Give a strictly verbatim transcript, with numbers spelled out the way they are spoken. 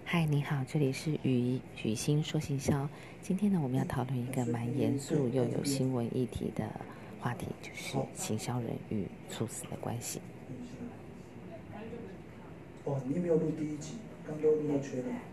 嗨，你好，这里是雨雨欣说行销。今天呢，我们要讨论一个蛮严肃又有新闻议题的话题，就是行销人与猝死的关系。 哦，你没有录第一集，刚都录到缺了。